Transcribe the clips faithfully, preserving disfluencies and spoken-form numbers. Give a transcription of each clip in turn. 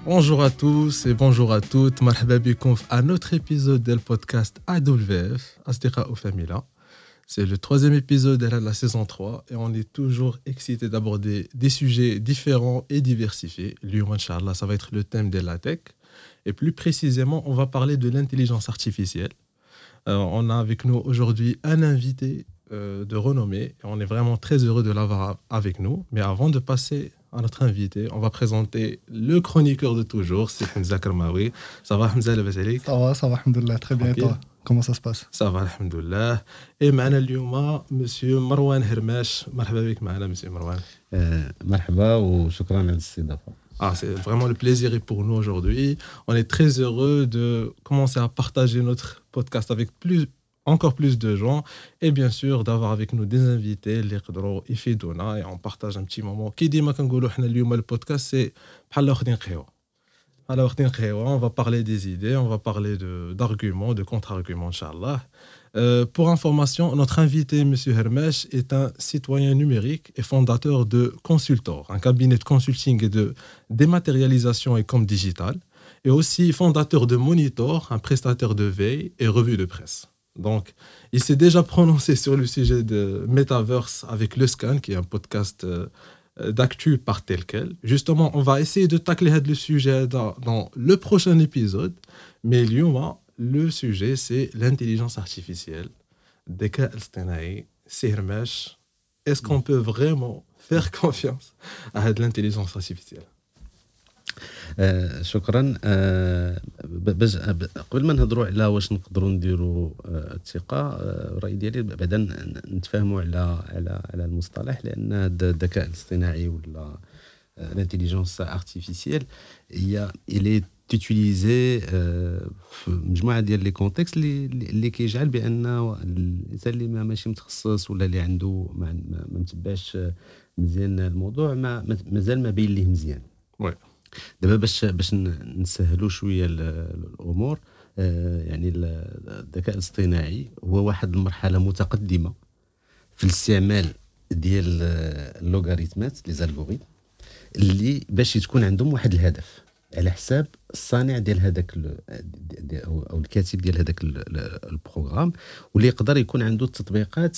Bonjour à tous et bonjour à toutes. مرحبا بكم في un autre épisode du podcast A W F, أصدقاء فاميلا. C'est le troisième épisode de la saison trois et on est toujours excité d'aborder des sujets différents et diversifiés. اليوم إن شاء الله, ça va être le thème de la tech. Et plus précisément, on va parler de l'intelligence artificielle. Euh, on a avec nous aujourd'hui un invité euh, de renommée et on est vraiment très heureux de l'avoir avec nous. Mais avant de passer à notre invité, on va présenter le chroniqueur de toujours, c'est Hamza Karmaoui. Ça va, Hamza, le Basalik? Ça va, ça va, alhamdoulilah, très bien. Et toi, comment ça se passe? Ça va, alhamdoulilah. Et معنا اليوم monsieur Marwan Hermesh. مرحبا بك معنا monsieur Marwan. مرحبا وشكرا على الاستضافة. Ah, c'est vraiment le plaisir pour nous aujourd'hui. On est très heureux de commencer à partager notre podcast avec plus, encore plus de gens et bien sûr d'avoir avec nous des invités اللي يقدروا يفيدونا et on partage un petit moment. كي ديما كنقولوا حنا اليوم البودكاست سي بحال واخدين قهوة. بحال واخدين قهوة, on va parler des idées, on va parler de d'arguments, de contre-arguments inchallah. Euh, pour information, notre invité, M. Hermesh, est un citoyen numérique et fondateur de Consultor, un cabinet de consulting et de dématérialisation et com digital, et aussi fondateur de Monitor, un prestataire de veille et revue de presse. Donc, il s'est déjà prononcé sur le sujet de Metaverse avec Le Scan, qui est un podcast euh, d'actu par tel quel. Justement, on va essayer de tacler le sujet dans, dans le prochain épisode, mais Lyon, le sujet, c'est l'intelligence artificielle. Deka al-Stanaï, c'est Hermesh. Est-ce qu'on peut vraiment faire confiance à l'intelligence artificielle? آه شكرا. آه باش قبل ما نهضروا على واش نقدروا نديروا آه الثقه، آه الراي ديالي بعدا نتفاهموا على على على المصطلح، لان الذكاء الاصطناعي ولا الانتيليجنس ارتيفيسيال هي الي تيتيليزي في مجموعه ديال لي كونتكست اللي اللي كيجعل بان الانسان اللي ماشي متخصص ولا اللي عنده ما متبعش مزيان الموضوع ما مازال ما بين ليه مزيان. وي دابا باش باش نسهلوا شويه الامور، يعني الذكاء الاصطناعي هو واحد المرحله متقدمه في الاستعمال ديال اللوغاريتمات لي زالغوريثم اللي باش تكون عندهم واحد الهدف على حساب الصانع ديال هذاك او الكاتب ديال هذاك البروغرام، واللي يقدر يكون عنده التطبيقات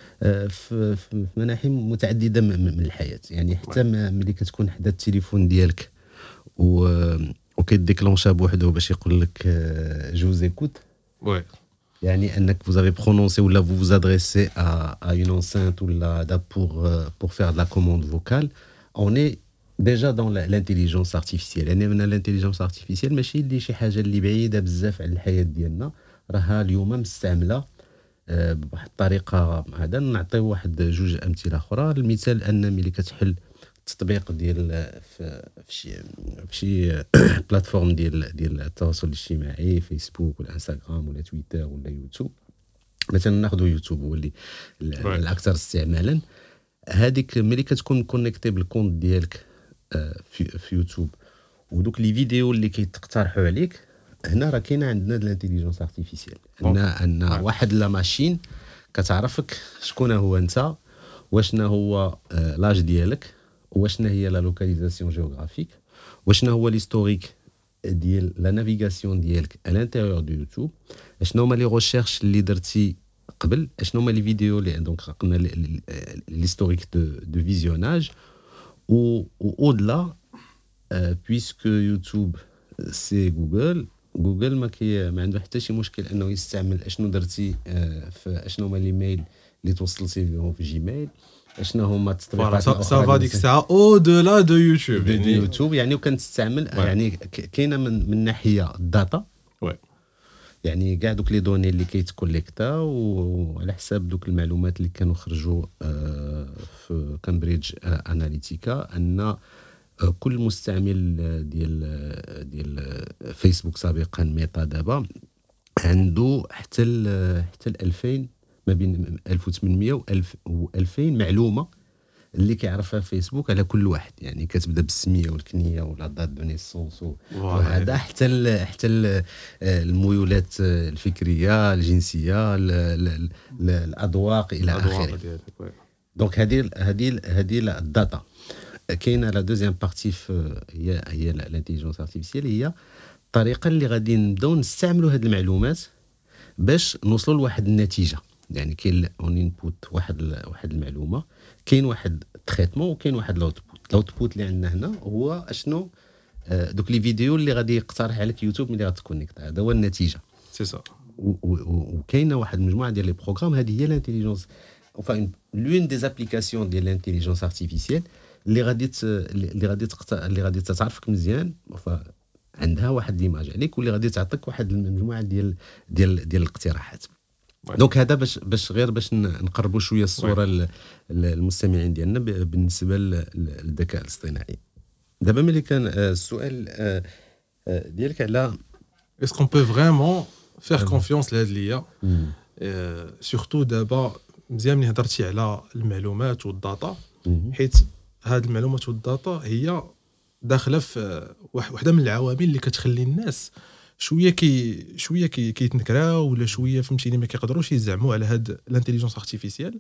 في مناحي متعدده من الحياه. يعني حتى ملي كتكون حدا التليفون ديالك و وكيديكلونشا بوحدو باش يقول لك جو زيكوت، وي يعني انك vous avez prononcé ou là vous vous adressez à à une enceinte ou là pour pour faire de la commande vocale, on est déjà dans l'intelligence artificielle. يعني من l'intelligence artificielle ماشي اللي شي حاجه اللي بعيده بزاف على الحياه ديالنا، راها اليوم مستعمله بواحد الطريقه. هذا نعطيو واحد جوج امثله اخرى. المثال ان ملي كتحل التطبيق ديال في شي في شي بلاتفورم ديال ديال التواصل الاجتماعي، فيسبوك ولا انستغرام ولا تويتر ولا يوتيوب. مثلا ناخذ يوتيوب هو اللي الاكثر استعمالا. هذيك ملي كتكون كونيكتي بالكونت ديالك في في يوتيوب ودوك لي فيديو اللي كيتقترحوا عليك، هنا راه كاينه عندنا د الانتيليجنس ارتيفيسيال، ان ان واحد لا ماشين كتعرفك شكون هو انت، واشنا هو لاج ديالك، واشنا هي لا لوكاليزاسيون جيوغرافيك، واشنا هو ليستوريك ديال لا نافيغاسيون ديالك à l'intérieur دو يوتيوب، اشنو هما لي ريشيرش اللي درتي قبل، اشنو هما لي فيديو اللي دونك قلنا ليستوريك دو دو فيزيوناج. و au-delà, euh, puisque YouTube c'est Google, جوجل ما كي ما عنده حتى شي مشكل انه يستعمل اشنو درتي في اشنو هما لي ميل اللي توصلتي بهم في جيميل، اشنو هما التطبيقات الاخرى. سا فا ديك الساعه او دولا دو يوتيوب، يعني يوتيوب يعني وكان تستعمل يعني كاينه من من ناحيه الداتا، وي يعني كاع دوك لي دوني اللي كيتكوليكتا وعلى حساب دوك المعلومات اللي كانوا خرجوا في كامبريدج اناليتيكا، ان كل مستعمل ديال ديال فيسبوك سابقا ميتا دابا عنده حتى ال حتى ال ألفين، ما بين ألف وثمانمية و ألفين معلومه اللي كيعرفها فيسبوك على كل واحد. يعني كتبدا بالسميه والكنيه ولا دات دو نيسونس وهذا حتى ال حتى ال الميولات الفكريه، الجنسيه، الاذواق الى اخره. دونك هذه هذه هذه الداتا كاينه لا دوزيام بارتي هي هي الانتيليجنس ارتيفيسيال هي الطريقه اللي غادي نبداو نستعملوا هذه المعلومات باش نوصلوا لواحد النتيجه. يعني كاين اون انبوت واحد واحد المعلومه، كاين واحد تريتمون وكاين واحد الاوتبوت. الاوتبوت اللي عندنا هنا هو اشنو دوك لي فيديو اللي غادي يقترح عليك يوتيوب ملي غتكونيكت، هذا هو النتيجه. سي سا. وكاينه واحد المجموعه ديال لي بروغرام، هذه هي الانتيليجنس enfin l'une des applications de l'intelligence artificielle اللي غادي اللي غادي اللي غادي تعرفك مزيان، عندها واحد ليماج عليك واللي غادي تعطيك واحد المجموعه ديال ديال ديال الاقتراحات. دونك هذا باش باش غير باش نقربوا شويه الصوره للمستمعين ديالنا بالنسبه للذكاء الاصطناعي. دابا ملي كان السؤال ديالك على est-ce qu'on peut vraiment faire confiance لهاد ليا سورتو دابا مزيان ملي هضرتي على المعلومات والداتا، حيت هاد المعلومات والداتا هي داخله في وحده من العوامل اللي كتخلي الناس شويه كي شويه كي كيتنكراو ولا شويه فهمتيني ما كيقدروش يزعموا على هاد الانتيليجنس ارتيفيسيال،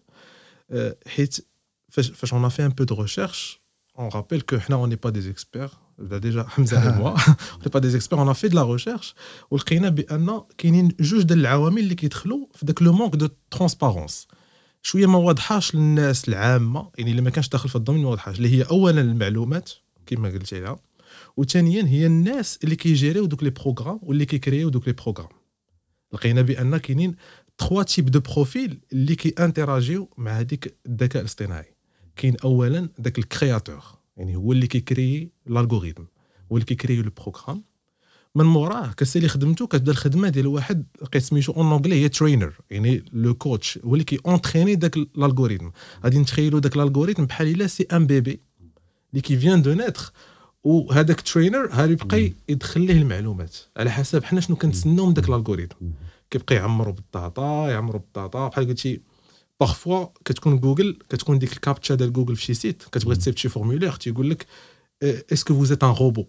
حيت فاش فاش on a fait un peu de recherche on rappelle que حنا on n'est pas des experts déjà Hamza et moi on n'est pas des experts, on a fait de la recherche ولقينا بان كاينين جوج ديال العوامل اللي كيدخلوا في داك لو مونك دو ترانسبارونس شويه ما واضحاش للناس العامه، يعني اللي ما كانش داخل في الضمن ما واضحاش، اللي هي اولا المعلومات كما قلتي لها، وثانيا هي الناس اللي كيجيريو دوك لي بروغرام واللي كيكريو دوك لي بروغرام. لقينا بان كاينين ثلاثة تيب دو بروفيل اللي كي انتراجيو مع هذيك الذكاء الاصطناعي. كاين اولا داك الكرياتور، يعني هو اللي كيكري الالغوريثم، هو اللي كيكري لو بروغرام، من موراه كسالي خدمته كتبدا الخدمه ديال واحد لقيت سميتو اون انجلي هي ترينر، يعني لو كوتش هو اللي كي اونتريني داك الالغوريثم. غادي نتخيلوا داك الالغوريثم بحال الا سي ان بيبي اللي كي فيان دو نيتر، وهذاك ترينر هاري يبقى يدخل ليه المعلومات على حسب حنا شنو كنتسناو من داك الالغوريثم، كيبقى يعمرو بالداتا يعمرو بالداتا بحال قلتي. بارفوا كتكون جوجل كتكون ديك الكابتشا ديال جوجل في شي سيت كتبغي تسيفط شي فورمولير تيقول لك اسكو فوز ايت ان روبو،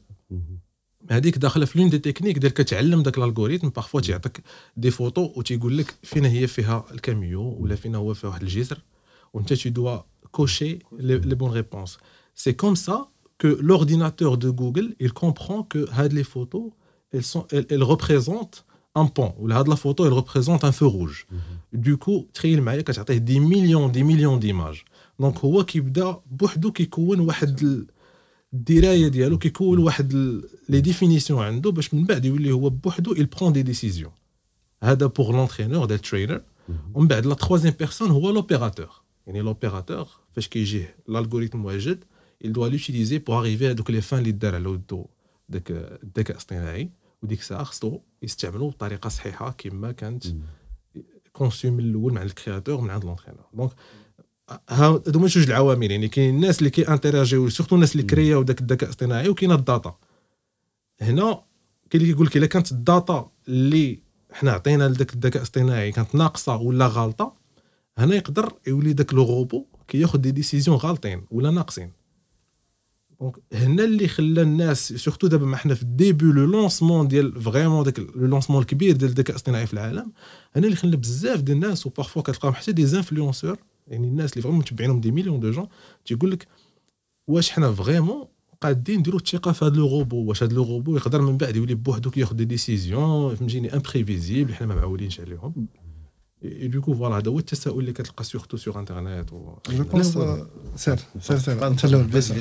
هذيك داخله في لون دي تكنيك ديال كتعلم داك الالغوريثم. بارفوا تيعطيك دي فوتو وتيقول لك فينا هي فيها الكاميو ولا فينا هو فيها واحد الجسر، وانت tu dois cocher les, les bonnes réponses. C'est comme ça que l'ordinateur de Google il comprend que هاد les photos elles sont elles, elles représentent un pont ولا هاد la photo elle représente un feu rouge. Du coup تخيل معايا كتعطيه دي مليون دي مليون ديماج، دونك هو كيبدا بوحدو كيكون واحد الدرايه ديالو، كيكون واحد لي ديفينيسيون عنده باش من بعد يولي هو بوحدو il prend des décisions. هذا pour l'entraîneur ديال trainer. ومن بعد لا troisième personne هو l'opérateur، يعني l'opérateur فاش كيجيه الالغوريثم واجد il doit l'utiliser pour arriver à دوك لي فان اللي دار على ودو داك الذكاء الاصطناعي، وديك الساعه خصو يستعملوا بطريقه صحيحه كما كانت كونسيو من الاول مع الكرياتور من عند لونترينور. دونك هادو هما جوج العوامل، يعني كاين الناس اللي كي انتراجيو سورتو الناس اللي كرياو داك الذكاء الاصطناعي، وكاين الداتا. هنا كاين اللي كيقول لك الا كانت الداتا اللي حنا عطينا لذاك الذكاء الاصطناعي كانت ناقصه ولا غلطه، هنا يقدر يولي داك لو روبو كياخذ دي ديسيزيون غالطين ولا ناقصين. دونك هنا اللي خلى الناس سورتو دابا ما حنا في الديبي لو لونسمون ديال فريمون داك لو لونسمون الكبير ديال الذكاء الاصطناعي في العالم، هنا اللي خلى بزاف ديال الناس وبارفوا كتلقاهم حتى دي انفلونسور، يعني الناس اللي فريمون متبعينهم دي مليون دو جون، تيقول لك واش حنا فريمون قادين نديروا الثقه في هذا لو روبو، واش هذا لو روبو يقدر من بعد يولي بوحدو كياخذ دي ديسيزيون فهمتيني امبريفيزيبل حنا ما معولينش عليهم. Et du coup voilà هذا هو التساؤل اللي كتلقى سورتو سور انترنيت و جو بونس سير سير سير انت الاول بس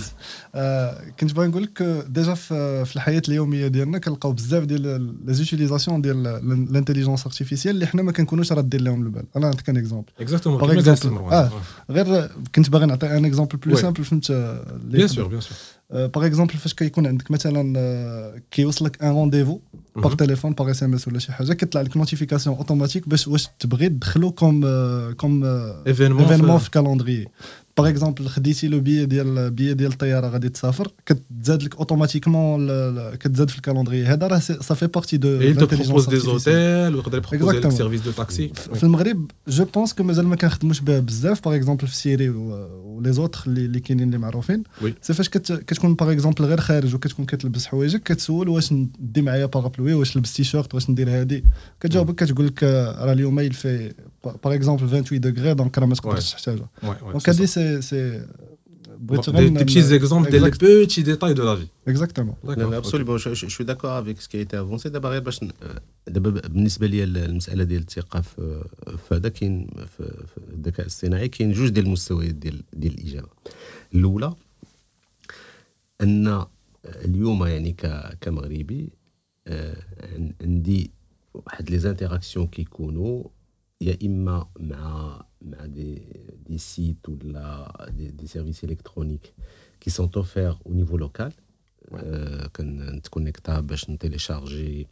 كنت باغي نقول لك ديجا في الحياه اليوميه ديالنا كنلقاو بزاف ديال لي زوتيليزاسيون ديال الانتيليجنس ارتيفيسيال اللي حنا ما كنكونوش رادين لهم البال. انا نعطيك ان اكزومبل اكزاكتومون باغ اكزومبل اه غير كنت باغي نعطي ان اكزومبل بلو سامبل فهمت بيان سور بيان سور. باغ اكزومبل فاش كيكون عندك مثلا كيوصلك ان رونديفو باغ تليفون باغ اس ام اس ولا شي حاجه كيطلع لك نوتيفيكاسيون اوتوماتيك باش واش تبغي تدخلو كوم كوم ايفينمون في الكالندري. باغ اكزومبل خديتي لو بي ديال بي ديال الطياره غادي تسافر كتزاد لك اوتوماتيكمون كتزاد في الكالندري. هذا راه سا في بارتي دو لانتيليجنس دي زوتيل ويقدر يبروبوزي لك سيرفيس دو تاكسي. في المغرب جو بونس كو مازال ما كنخدموش به بزاف. باغ اكزومبل في سيري ولي زوتر اللي كاينين اللي معروفين سي فاش كتكون باغ اكزومبل غير خارج وكتكون كتلبس حوايجك كتسول واش ندي معايا بارابلوي واش لبس تي شورت واش ندير هادي كتجاوبك كتقول لك راه اليوم يلفي باغ اكزومبل ثمانية وعشرين دوغري دونك راه ما تقدرش تحتاجها. دونك هادي سي سي بغيت des, des petits exemples des petits détails de la vie. Exactement. D'accord. Absolument. Je, je, je suis d'accord avec ce qui a été avancé. دابا غير باش دابا بالنسبه لي المساله ديال الثقه في في هذا كاين في الذكاء الاصطناعي كاين جوج ديال المستويات ديال ديال الاجابه. الاولى ان اليوم يعني كمغربي عندي واحد لي زانتيراكسيون كيكونوا يا اما مع مع دي دي سيت ولا دي, دي سيرفيس الكترونيك qui sont offerts au niveau local كنتكونيكتا باش نتيليشارجي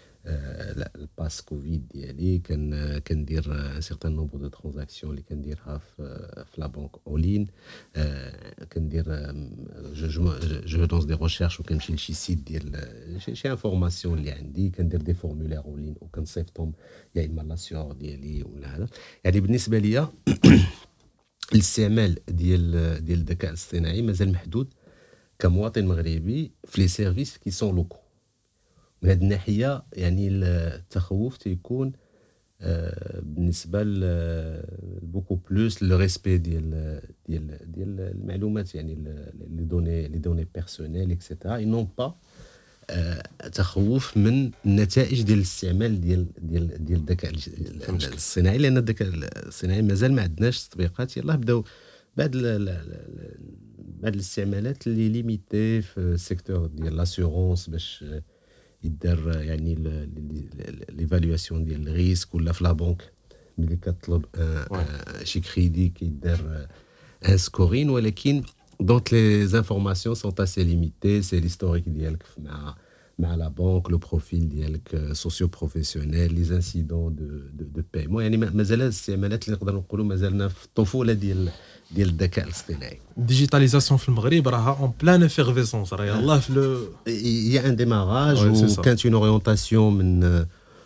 الباس كوفيد ديالي كن كندير ان سيغتان نومبر دو ترانزاكسيون اللي كنديرها في في لا بانك اولين كندير جو جو لونس دي ريشيرش وكنمشي لشي سيت ديال شي انفورماسيون اللي عندي كندير دي فورمولير اولين وكنصيفطهم يا اما لاسيور ديالي ولا هذا يعني بالنسبه ليا الاستعمال ديال ديال الذكاء الاصطناعي مازال محدود كمواطن مغربي في لي سيرفيس كي سون لوكو من هذه الناحيه يعني التخوف تيكون بالنسبه بوكو بلوس لو ريسبي ديال ديال ديال المعلومات يعني لي دوني لي دوني بيرسونيل اكسيتيرا اي نون با تخوف من النتائج ديال الاستعمال ديال ديال ديال الذكاء الاصطناعي لان الذكاء الاصطناعي مازال ما عندناش تطبيقات يلاه بداو بعض بعض الاستعمالات اللي ليميتي في السيكتور ديال لاسيورونس باش يدار يعني ليفالواسيون ديال الريسك ولا في لا بنك ملي كتطلب شي كريدي كيدار ان سكورين ولكن دونك لي انفورماسيون سون اسي ليميتي سي ليستوريك ديالك مع مع لا بنك لو بروفيل ديالك سوسيو بروفيسيونيل لي انسيدون دو دو دو بايمون يعني مازال الاستعمالات اللي نقدروا نقولوا مازالنا في الطفوله ديال ديال الذكاء الاصطناعي. الديجيتاليزاسيون في المغرب راها اون بلان افيرفيسونس راه يلاه في لو يا ان ديماراج وكانت اون اورينتاسيون من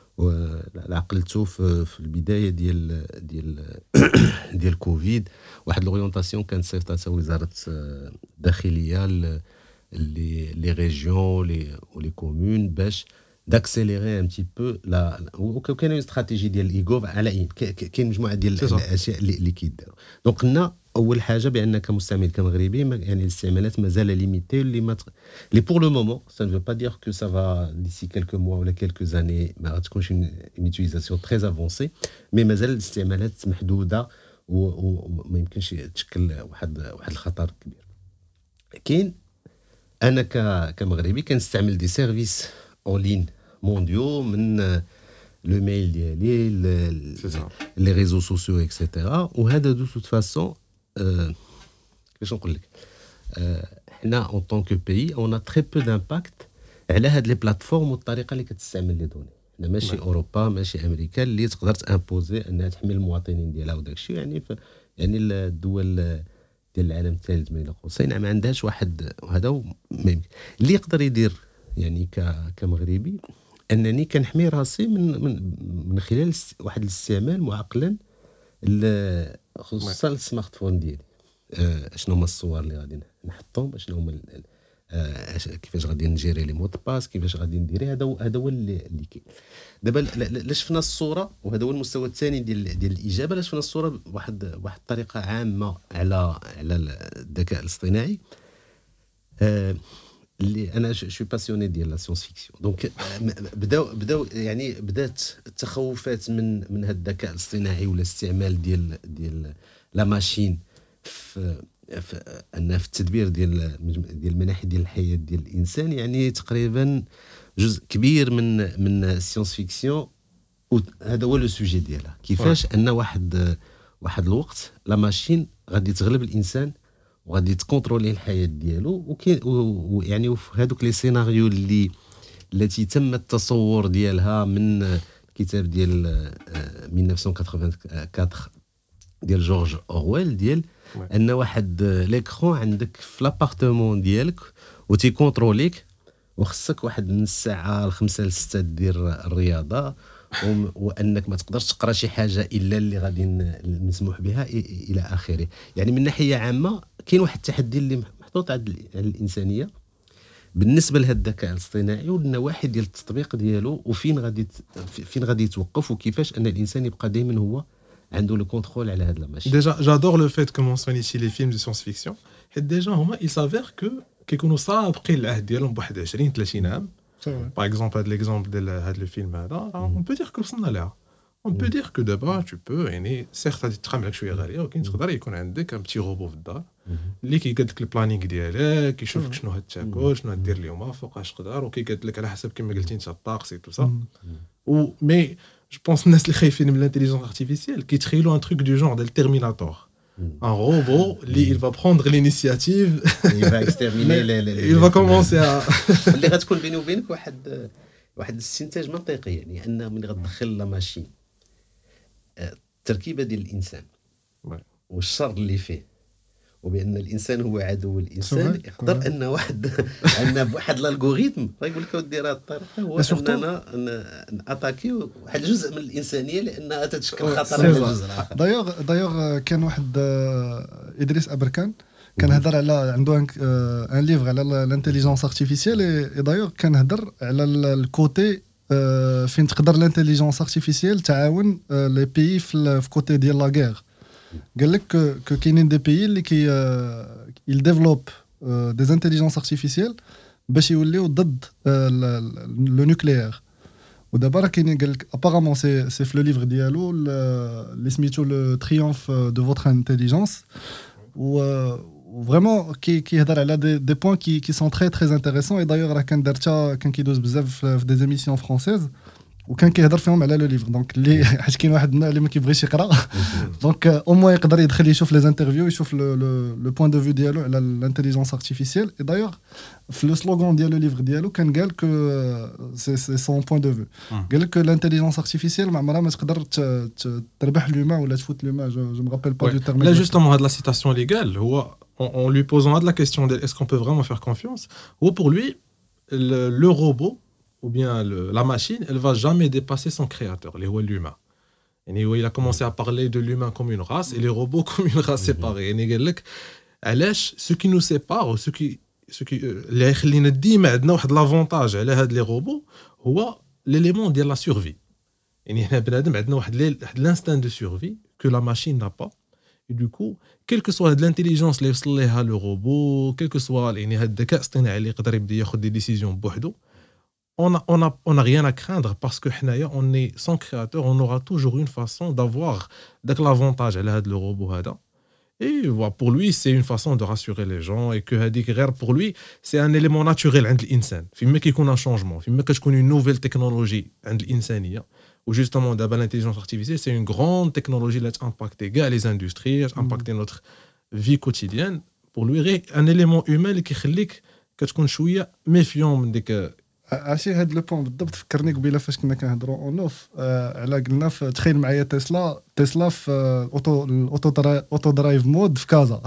عقلتو في, في البدايه ديال ديال ديال كوفيد واحد لورينتاسيون كانت صيفطتها وزاره الداخليه لي لي ريجيون لي ولي كومون باش داكسيليري ان تي بو لا وكاين اون استراتيجي ديال الايغوف على كاين مجموعه ديال الاشياء اللي كيداروا دونك قلنا اول حاجه بان كمستعمل كمغربي يعني الاستعمالات مازال ليميتي اللي ما لي بور لو مومون سا نو با دير كو سا فا ديسي كيلكو موا ولا كيلكو زاني ما غتكونش اون يوتيليزاسيون تري افونسي مي مازال الاستعمالات محدوده وما يمكنش تشكل واحد واحد الخطر كبير. كاين انا كمغربي كنستعمل دي سيرفيس اون لين مونديو من لو ميل ديالي لي ريزو سوسيو اكسيتيرا وهذا دو توت فاسون كيفاش نقول لك حنا اون طون كو بيي اون تري بو دامباكت على هاد لي بلاتفورم والطريقه اللي كتستعمل لي دوني حنا ماشي اوروبا ماشي امريكا اللي تقدر تامبوزي انها تحمي المواطنين ديالها وداك الشيء يعني يعني الدول ديال العالم الثالث بين قوسين ما عندهاش واحد وهذا ما يمكن اللي يقدر يدير يعني كمغربي انني كنحمي راسي من من من خلال واحد الاستعمال معقلا خصوصا السمارت فون ديالي آه شنو هما الصور اللي غادي نحطهم شنو هما آه كيفاش غادي نجيري لي مود باس كيفاش غادي نديري هذا هذا هو اللي, اللي كاين دابا لا شفنا الصوره وهذا هو المستوى الثاني ديال ديال الاجابه لا شفنا الصوره بواحد واحد الطريقه عامه على على الذكاء الاصطناعي آه اللي انا شو باسيوني ديال لا سيونس فيكسيون دونك بداو بداو يعني بدات التخوفات من من هذا الذكاء الاصطناعي ولا استعمال ديال ديال لا ماشين في في ان في التدبير ديال ديال المناحي ديال الحياه ديال الانسان يعني تقريبا جزء كبير من من السيونس فيكسيون وهذا هو لو سوجي ديالها كيفاش ان واحد واحد الوقت لا ماشين غادي تغلب الانسان وغادي تكونترولي الحياه ديالو وكاين ويعني في هذوك لي سيناريو اللي التي تم التصور ديالها من الكتاب ديال ألف وتسعمائة وثمانية وثمانين ديال جورج اورويل ديال ان واحد ليكرون عندك في لابارتمون ديالك وتيكونتروليك وخصك واحد من الساعه لخمسة لستة دير الرياضه وانك ما تقدرش تقرا شي حاجه الا اللي غادي مسموح بها الى اخره يعني من ناحيه عامه كاين واحد التحدي اللي محطوط على الانسانيه بالنسبه لهذا الذكاء الاصطناعي والنواحي ديال التطبيق ديالو وفين غادي فين غادي يتوقف وكيفاش ان الانسان يبقى دائما هو عنده لو كونترول على هذا الماشي. Déjà, j'adore le fait que mentionne ici les films de science-fiction حيت ديجا هما il s'avère que كيكونوا سابقين العهد ديالهم بواحد عشرين ثلاثين عام. باغ اكزومبل هاد ليكزومبل ديال هاد لو فيلم هذا اون بو دير كو وصلنا ليها. اون بو دير كو دابا تو بو يعني سيغت غادي تقام لك شويه غاليه ولكن تقدر يكون عندك ان بتي روبو في الدار اللي كيقاد لك البلانينغ ديالك كيشوفك شنو هتاكل شنو غدير اليوم فوقاش تقدر وكيقاد لك على حسب كما قلتي انت الطقس تو سا. و مي جو بونس الناس اللي خايفين من الانتيليجنس ارتيفيسيال كيتخيلوا ان تروك دو جونغ ديال التيرميناتور. Un robot, lui, il va prendre l'initiative. Il va exterminer les, les, les il va commencer à اللي غتكون بيني وبينك واحد واحد الاستنتاج منطقي يعني ان من غتدخل لا ماشين التركيبه ديال الانسان والشر اللي فيه وبان الانسان هو عدو الانسان يقدر ان واحد ان بواحد الالغوريثم يقول لك دير هذه الطريقه هو اننا ناتاكي واحد الجزء من الانسانيه لانها تتشكل خطر على الجزء الاخر. دايوغ دايوغ كان واحد ادريس ابركان كان هضر على عنده ان ليفر على الانتيليجنس ارتيفيسيال اي دايوغ كان هضر على الكوتي فين تقدر الانتيليجنس ارتيفيسيال تعاون لي بيي في كوتي ديال لا غير. قال لك كو كاينين دي بيي اللي كي يل ديفلوب دي انتيليجنس ارتيفيسيال باش يوليو ضد لو نوكليير. ودابا راه كاينين قال لك ابارامون سي سي في لو ليفر ديالو اللي سميتو لو تريومف دو فوتر انتيليجنس و فريمون كي كيهضر على دي دي بوين كي كي سون تري تري انتريسون. اي دايوغ راه كان دارتها كان كيدوز بزاف في دي زيميسيون فرونسيز وكان كيهضر فيهم على لو ليفر. دونك اللي حيت كاين واحد اللي ما كيبغيش يقرا دونك او موان يقدر يدخل يشوف لي انترفيو يشوف لو لو بوين دو فيو ديالو على الانتيليجنس ارتيفيسيال. اي دايوغ في لو سلوغان ديال لو ليفر ديالو كان قال كو سي سي سون بوين دو فيو قال لك الانتيليجنس ارتيفيسيال ما عمرها ما تقدر تربح لوما ولا تفوت لوما. جو مي رابيل با دو تيرم لا جوستومون هاد لا سيتاسيون اللي قال هو en lui posant la question de est-ce qu'on peut vraiment faire confiance ou pour lui le, le robot ou bien le, la machine, elle va jamais dépasser son créateur, l'humain. Et il a commencé à parler de l'humain comme une race et les robots comme une race séparée. Et ce qui nous sépare, ce qui ce qui اللي يخلينا ديما عندنا واحد لافونتاج على هاد لي روبو هو l'élément ديال la survie. يعني هنا بنادم عندنا واحد l'instinct de survie que la machine n'a pas. Et du coup, quelle que soit l'intelligence اللي يوصل ليها le robot, quel que soit يعني هاد الذكاء الاصطناعي اللي يقدر يبدا ياخذ دي ديسيزيون بوحدو, on a on a on a rien à craindre parce que حنايا on est son créateur, on aura toujours une façon d'avoir داك l'avantage على هاد le robot هذا. Et voilà, pour lui, c'est une façon de rassurer les gens et que هذيك غير pour lui, c'est un élément naturel عند الإنسان. فيما كيكون un changement, فيما كتكون une nouvelle technologie عند الإنسانية. Ou justement, d'abord l'intelligence artificielle, c'est une grande technologie qui a impacté les industries, qui a impacté notre vie quotidienne. Pour lui, un élément humain qui fait que tu sois méfiant de que عرفتي هاد لو بوين بالضبط فكرني قبيله فاش كنا كنهضروا اونوف على قلنا تخيل معايا تسلا تسلا في اوتو الاوتو اوتو درايف مود في كازا.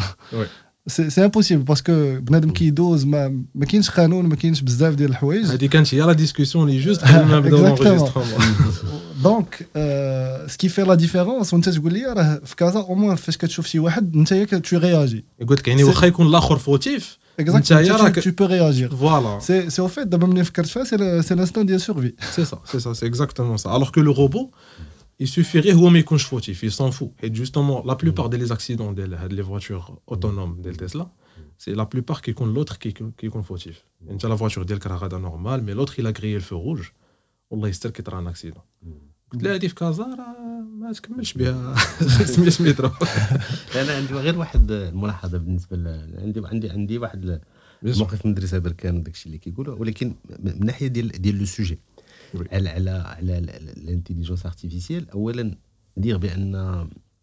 سي سي امبوسيبل باسكو بنادم كيدوز ما ما كاينش قانون ما كاينش بزاف ديال الحوايج. هذه كانت هي لا ديسكوسيون اللي جوست قبل ما نبداو لونجسترمون. دونك سكي في لا ديفيرونس وانت تقول لي راه في كازا او موان فاش كتشوف شي واحد انت ياك تو رياجي يقول لك يعني واخا يكون الاخر فوتيف انت راك tu peux réagir. Voilà. C'est c'est au fait d'abord ملي فكرت فيها c'est c'est l'instinct de survie. C'est ça, c'est ça, c'est exactement ça. Alors que le robot, il suffirait هو ما يكونش فوتيف, il s'en fout. Et justement, la plupart des accidents des les voitures autonomes de Tesla, c'est la plupart qui يكون l'autre qui qui يكون فوتيف. انت la voiture ديالك راه غادا normal, mais l'autre il a grillé le feu rouge. والله يستر كي طرا ان اكسيدون. قلت له هذه في كازا راه ما تكملش بها خمسمية متر. انا عندي غير واحد الملاحظه بالنسبه ل... عندي عندي عندي واحد الموقف من مدرسه بركان وداك الشيء اللي كيقولوا, ولكن من ناحيه ديال ديال لو سوجي على على على الانتيليجنس ارتيفيسيال. اولا ندير بان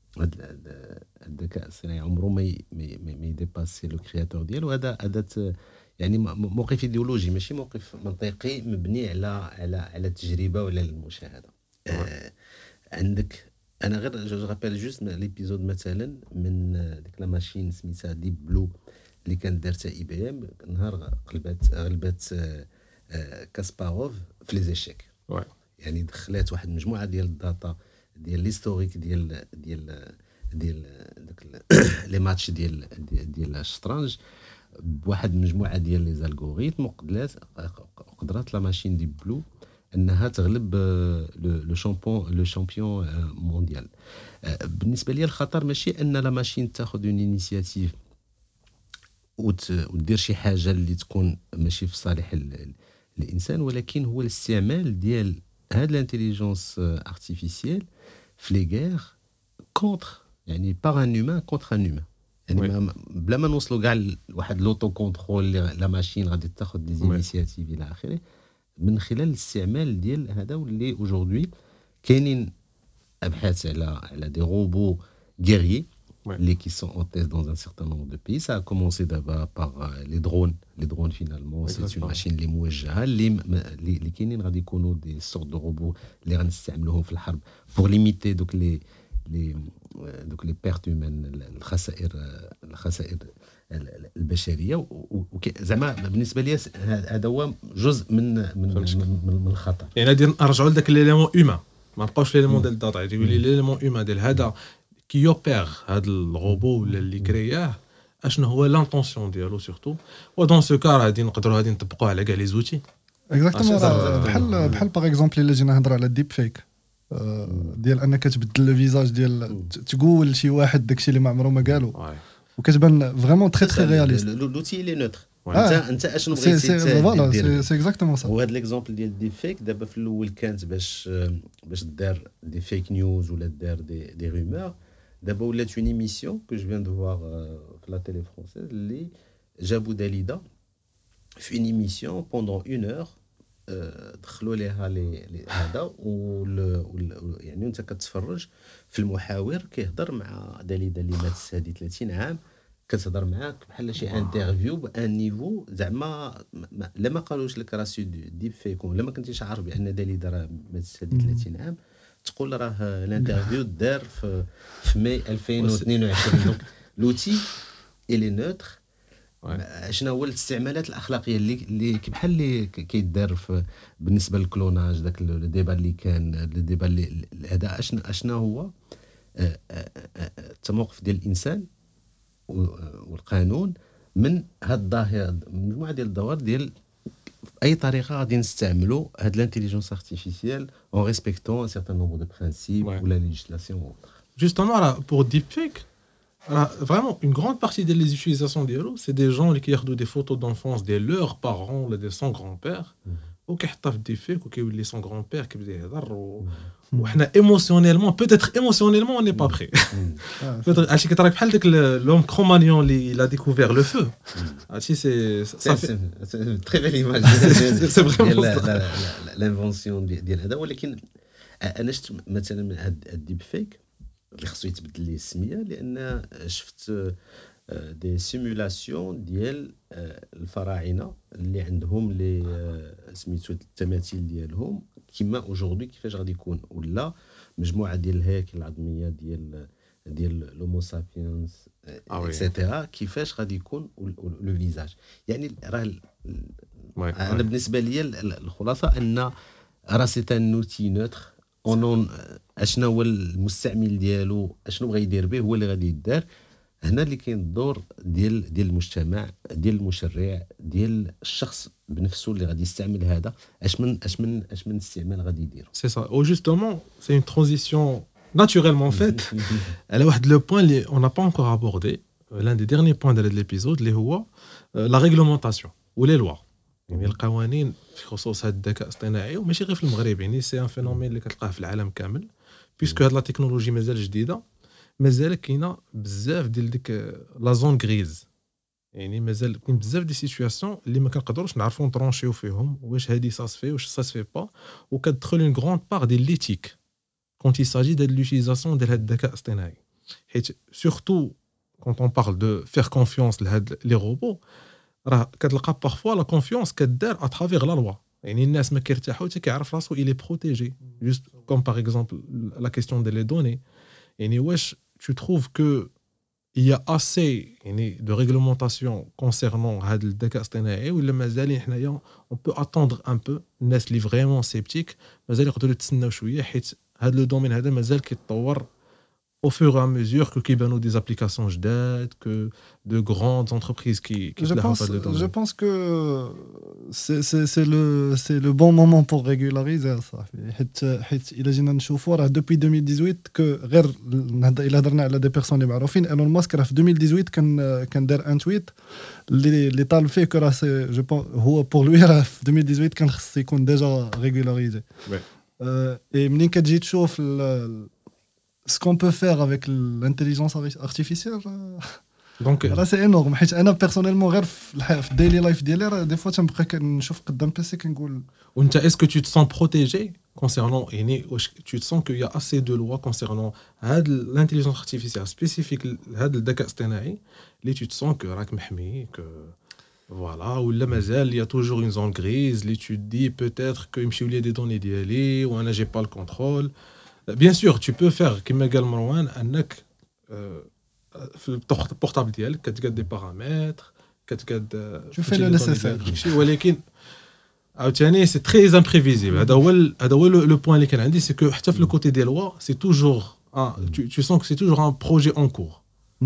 الذكاء الاصطناعي عمره ما ما يديباسي لو كرياتور ديالو. هذا هذا يعني موقف ايديولوجي ماشي موقف منطقي مبني على على على التجربه ولا المشاهده. آه عندك انا غير جو رابيل جوست ليبيزود مثلا من ديك لا ماشين سميتها ديب بلو اللي كانت دارتها اي بي ام نهار قلبات غلبات آه آه كاسباروف في لي زيشيك. يعني دخلات واحد المجموعه ديال الداتا ديال ليستوريك ديال ديال ديال داك لي ماتش ديال ديال الشطرنج بواحد المجموعه ديال لي زالغوريثم وقدرات قدرات لا ماشين ديب بلو انها تغلب لو شامبيون لو شامبيون مونديال. بالنسبه لي الخطر ماشي ان لا ماشين تاخذ اون انيشياتيف ودير شي حاجه اللي تكون ماشي في صالح الانسان، ولكن هو الاستعمال ديال هاد الانتيليجنس ارتيفيسيال في لي غير كونتر، يعني باغ ان هيومان كونتر ان هيومان، يعني ما بلا ما نوصلوا كاع لواحد لوتو كونترول لا ماشين غادي تاخذ دي انيشياتيف الى اخره، من خلال الاستعمال ديال هذا واللي اوجوردي كاينين ابحاث على على دي روبو guerriers Ouais. les qui sont en test dans un certain nombre de pays. Ça a commencé d'abord par euh, les drones. Les drones, finalement, Exactement. c'est une machine les موجهة اللي اللي كاينين غادي يكونوا des sortes de robots اللي غنستعملوهم في الحرب pour limiter donc les les donc les pertes humaines، الخسائر الخسائر البشريه. زعما بالنسبه لي هذا هو جزء من من من, من الخطر. يعني غادي نرجعوا لذاك ليليمون هيومان، ما نبقاوش في ليليمون ديال الداتا، يقول لي ليليمون هيومان ديال هذا كي اوبير هذا الروبو ولا اللي كرياه، اشنو هو لانطونسيون ديالو سورتو. ودون سو كار غادي نقدروا غادي نطبقوه على كاع لي زوتي اكزاكتومون. بحال بحال باغ اكزومبل الا جينا نهضروا على الديب فيك ديال انك تبدل الفيزاج ديال تقول شي واحد داكشي اللي ما عمره ما قالو وكتبان فريمون تري تري رياليست. لوتي لي نوتر انت انت اشنو بغيتي فوالا سي اكزاكتومون صا. وهذا ليكزامبل ديال الديب فيك دابا في الاول كانت باش باش دار دي فيك نيوز ولا دار دي دي رومور. دابا ولات اون ايميسيون كو جو فيان دو فوار في لا تيلي فرونسيز اللي جابوا داليدا في اون ايميسيون بوندون اون اور دخلوا ليها لي هذا وال يعني انت كتفرج في المحاور كيهضر مع داليدا اللي مات هذه ثلاثين عام، كتهضر معاك بحال شي انترفيو بان نيفو زعما لا ما قالوش لك راه سي ديب فيك ولا ما كنتيش عارف بان داليدا راه مات هذه ثلاثين عام، تقول راه الانترفيو دار في في ماي ألفين واثنين وعشرين. دونك لوتي الي نوتر. شنو هو الاستعمالات الاخلاقيه اللي اللي بحال اللي كيدار بالنسبه للكلوناج، داك الديبا اللي كان الديبا اللي هذا اشنا اشنا هو التموقف ديال الانسان والقانون من هاد الظاهره، مجموعه ديال الظواهر ديال اي طريقه غادي نستعملوا هاد لانتيليجنس ارتيفيسيال en respectant un certain nombre de principes ouais. ou la législation ou autre. Justement là pour deepfake, alors, vraiment une grande partie des les utilisations ديالو c'est des gens qui regardent des photos d'enfance de leurs parents ou de son grand-père وكيحطها في deepfake وكيولي son grand-père كيبدا يهضر وحنا émotionnellement peut-être émotionnellement on n'est pas prêt. peut-être عرفتي كتراك بحال داك l'homme Cro-Magnon اللي il a découvert le feu. عرفتي c'est ça fait c'est très belle image. c'est vraiment l'invention ديال هذا. ولكن انا شفت مثلا من هاد الديب فيك اللي خصو يتبدل ليه السميه، لان شفت دي سيمولاسيون ديال الفراعنه اللي عندهم لي سميتو التماثيل ديالهم كما اوجوردي كيفاش غادي يكون، ولا مجموعه ديال الهياكل العظميه ديال ديال لومو سابينس اكسيتيرا كيفاش غادي يكون لو فيزاج. يعني راه انا بالنسبه لي الخلاصه ان راه سي ان اوتي نوتر اون اشنو هو المستعمل ديالو اشنو بغى يدير به هو اللي غادي يدار. هنا اللي كاين الدور ديال ديال المجتمع ديال المشرع ديال الشخص بنفسه اللي غادي يستعمل هذا اش من اش من اش من استعمال غادي يدير. سي سا او جوستومون سي اون ترانزيسيون naturellement faite. Elle a واحد لو بوين اللي on n'a pas encore abordé, l'un des derniers points de l'épisode اللي هو la réglementation ou les lois. يعني القوانين في خصوص هذا الذكاء الاصطناعي وماشي غير في المغرب، يعني سي ان فينومين اللي كتلقاه في العالم كامل بيسكو هاد لا تكنولوجي مازال جديده، مازال كاينه بزاف ديال ديك لا زون غريز. يعني مازال كاين بزاف دي سيتوياسيون اللي ما كنقدروش نعرفوا نطرونشيو فيهم واش هادي ساسفي واش ساسفي با، وكتدخل اون غروند بار ديال ليتيك كونت يساجي ديال لوتيليزاسيون ديال هاد الذكاء الاصطناعي. حيت سورتو كونت اون بارل دو فير كونفيونس لهاد لي روبو، راه كتلقى بارفوا لا كونفيونس كدار ا ترافير لا لوا. يعني الناس ما كيرتاحوا حتى كيعرف راسو إلي بروتيجي جوست كوم باغ اكزومبل لا كيسيون ديال لي دوني. يعني واش tu trouves que il y a assez يعني de réglementation concernant هاد الذكاء الاصطناعي ولا مازال حنايا on peut attendre un peu؟ الناس اللي فريمون سيبتيك مازال يقدروا يتسناو شويه حيت هاد لو دومين هذا مازال كيتطور au fur et à mesure que كيبانوا des applications جداد, que de grandes entreprises qui qui je pense, pas dedans. Je pense que c'est c'est c'est le c'est le bon moment pour régulariser ça. حيت حيت إلا جينا نشوفوا راه depuis deux mille dix-huit que غير إلا هضرنا على des personnes اللي معروفين, ايلون ماسك راه في deux mille dix-huit كان كان دار ان تويت اللي اللي طالب فيه كو راه سي جو بون هو بور لوي راه في deux mille dix-huit كان خص يكون ديجا ريغولاريزي. اي منين كتجي تشوف ce qu'on peut faire avec l'intelligence artificielle, donc là c'est énorme. حيت انا personnellement غير في الديلي لايف ديالي راه دي فوا تنبقى كنشوف قدام بيسي كنقول وانت est-ce que tu te sens protégé concernant يعني tu te sens qu'il y a assez de lois concernant هاد l'intelligence artificielle spécifique هاد الذكاء الاصطناعي اللي tu te sens que راك محمي que voilà ولا مازال il y a toujours une zone grise اللي tu te dis peut-être que يمشيو لي دي دوني ديالي وانا j'ai pas le contrôle. Bien sûr, tu peux faire كما قال مروان انك في البورتابل ديالك كتقاد دي بارامتر كتقاد tu fais le nécessaire ولكن عاوتاني سي تري امبريفيزيبل. هذا هو هذا هو لو بوين اللي كان عندي, سي كو حتى في لو كوتي دي لوا سي توجور tu sens que c'est toujours un projet en cours.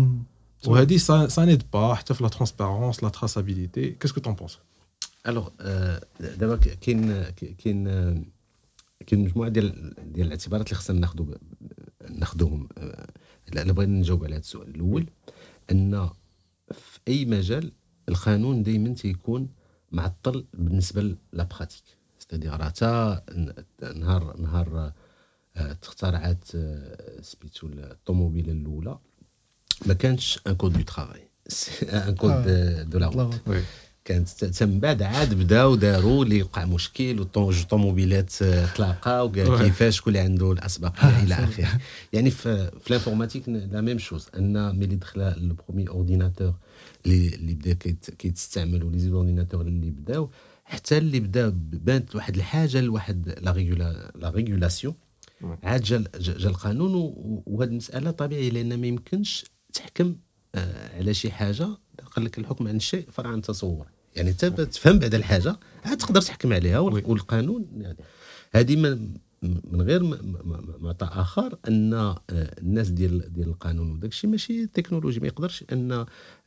وهذه ça ça n'aide pas حتى في la transparence, la traçabilité. Qu'est-ce que tu en penses? Alors d'abord كاين كاين كاين مجموعه ديال ديال الاعتبارات اللي خصنا ناخذوا ناخذوهم. الا بغينا نجاوب على هذا السؤال الاول, ان في اي مجال القانون دائما تيكون معطل بالنسبه لا براتيك. ستادير راه حتى نهار نهار تخترعات سبيتو الطوموبيله الاولى ما كانش ان كود دو ترافاي, ان كود دو لا روت. كانت تم بعد عاد بداو داروا اللي وقع مشكل والطوموبيلات تلاقاو وقال كيفاش كل عنده الاسبقيه الى اخره. يعني في في الانفورماتيك لا ميم شوز, ان ملي دخل لو برومي اورديناتور اللي اللي بدا كيتستعملوا لي زورديناتور اللي بداو حتى اللي بدا بانت واحد الحاجه لواحد لا ريغولا لا ريغولاسيون, عاد جا جا القانون. وهذه المساله طبيعي لان ما يمكنش تحكم على شي حاجه قال لك الحكم عن الشيء فرع عن التصور. يعني انت تفهم بعد الحاجه عاد تقدر تحكم عليها. والقانون يعني هذه من من غير معطى اخر ان الناس ديال ديال القانون وداك الشيء ماشي تكنولوجي, ما يقدرش ان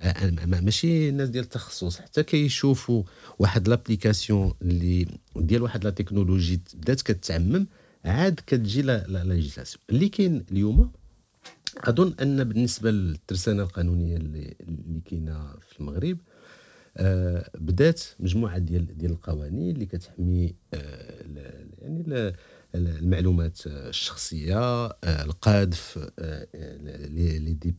ماشي الناس ديال التخصص حتى كيشوفوا واحد لابليكاسيون اللي ديال واحد لا تكنولوجي بدات كتعمم عاد كتجي لا ليجيسلاسيون اللي كاين اليوم. اظن ان بالنسبه للترسانه القانونيه اللي اللي كاينه في المغرب آه بدات مجموعه ديال ديال القوانين اللي كتحمي آه يعني المعلومات الشخصيه, آه القذف, آه لي ديب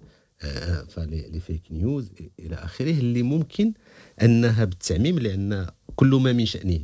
آه لي فيك نيوز الى اخره, اللي ممكن انها بالتعميم لان كل ما من شأنه.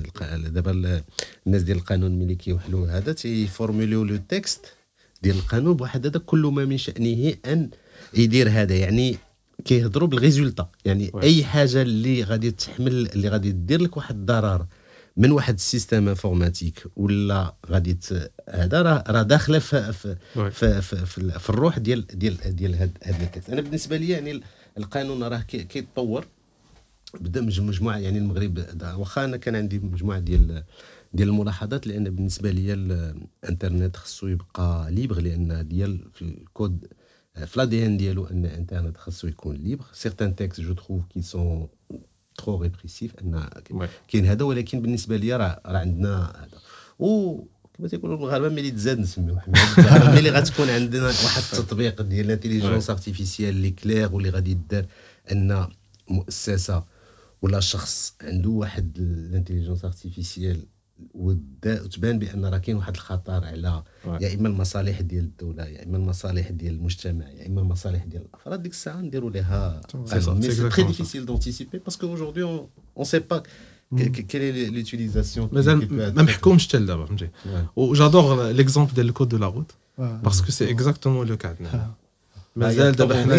دابا الناس ديال القانون ملي كيوحلوا هذا تيفورموليو لو تكست ديال القانون بواحد هذا كل ما من شأنه ان يدير هذا. يعني كيهضروا بالريزولطا, يعني وي. اي حاجه اللي غادي تحمل اللي غادي دير لك واحد الضرر من واحد السيستم انفورماتيك ولا غادي هذا راه راه داخله في في في, في, في, في الروح ديال ديال ديال هذا التكست. انا بالنسبه لي يعني القانون راه كيتطور بدا مجموعه. يعني المغرب واخا انا كان عندي مجموعه ديال ديال الملاحظات, لان بالنسبه لي الانترنت خصو يبقى ليبر, لان ديال في الكود في لا دي ان ديالو ان الانترنت خصو يكون ليبر. سيغتان تيكست جو تروف كي سون ترو ريبريسيف ان كاين هذا, ولكن بالنسبه لي راه راه عندنا هذا. و كما تيقولوا المغاربه ملي تزاد نسميوه حميد ملي غتكون عندنا واحد التطبيق ديال لانتيليجونس ارتيفيسيال اللي كلير واللي غادي يدار ان مؤسسه ولا شخص عنده واحد الانتيليجونس ارتيفيسيال وتبان بان راه كاين واحد الخطر على يا اما المصالح ديال الدوله يا اما المصالح ديال المجتمع يا اما المصالح ديال الافراد, ديك الساعه نديروا لها مي سي تري ديفيسيل دونتيسيبي باسكو اجوردي اون سي با كيل اي لوتيليزاسيون مازال ما محكومش حتى لدابا فهمتي. وجادور ليكزامبل ديال الكود دو لا روت باسكو سي اكزاكتومون لو كا عندنا مازال دابا حنا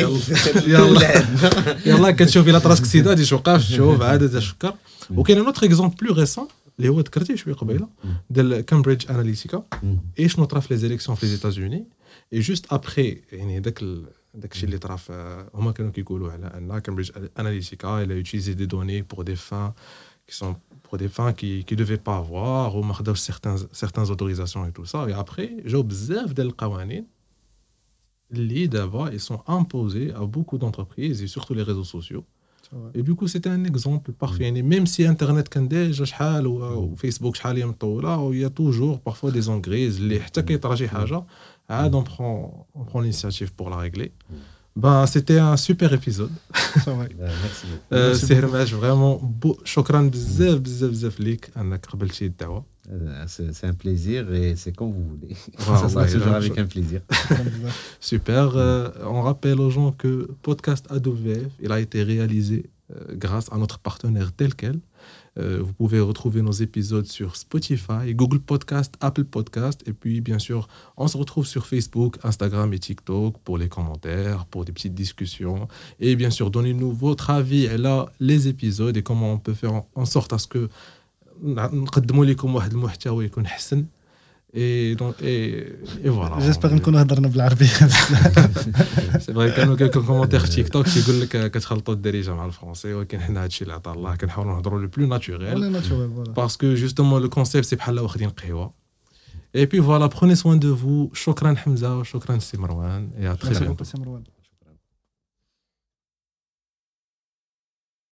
يلا يلا كتشوفي لا تراسك سيده دي شوقاف شوف عاد تشكر. وكاين ان اوتر اكزامبل بلو ريسون اللي هو ذكرتيه شويه قبيله ديال كامبريدج اناليتيكا اي شنو طرا في لي زيليكسيون في لي ايتازوني. اي جوست ابري يعني داك داك الشيء اللي طرا هما كانوا كيقولوا على ان كامبريدج اناليتيكا الى يوتيليزي دي دوني بور دي فان qui sont pour des fins qui qui devaient pas avoir ou ما خداوش certains certains autorisations et tout ça. et après جاو بزاف ديال القوانين اللي دابا ils sont imposés à beaucoup d'entreprises et surtout les réseaux sociaux. Et du coup c'était un exemple parfait. يعني même si internet كان ديجا شحال وفيسبوك شحال هي مطوله وهي toujours parfois des zones grises اللي حتى كيطرا شي حاجه عاد on prend on prend l'initiative pour la régler. Ben, c'était un super épisode. Merci. C'est Hermès, vraiment, شكرا بزاف بزاف بزاف ليك انك قبلتي الدعوه. C'est un plaisir et c'est comme vous voulez. Ça sera toujours avec un plaisir. Super. Euh, on rappelle aux gens que podcast A W F, il a été réalisé euh, grâce à notre partenaire tel quel. Euh, vous pouvez retrouver nos épisodes sur Spotify, Google Podcast, Apple Podcast. Et puis, bien sûr, on se retrouve sur Facebook, Instagram et TikTok pour les commentaires, pour des petites discussions. Et bien sûr, donnez-nous votre avis et là, les épisodes et comment on peut faire en sorte à ce que نقدموا لكم واحد المحتوى يكون حسن. Et donc, et, et voilà. J'espère نكونوا هضرنا بالعربية. C'est vrai كانوا quelques commentaires في TikTok يقول لك كتخلطوا الدارجة مع الفرنسي ولكن حنا هادشي اللي عطا الله كنحاولوا نهضروا le plus naturel. Parce que justement le concept c'est بحال واخدين قهوة. Et puis voilà, prenez soin de vous. شكرا حمزة وشكرا سي مروان. Et à très bientôt.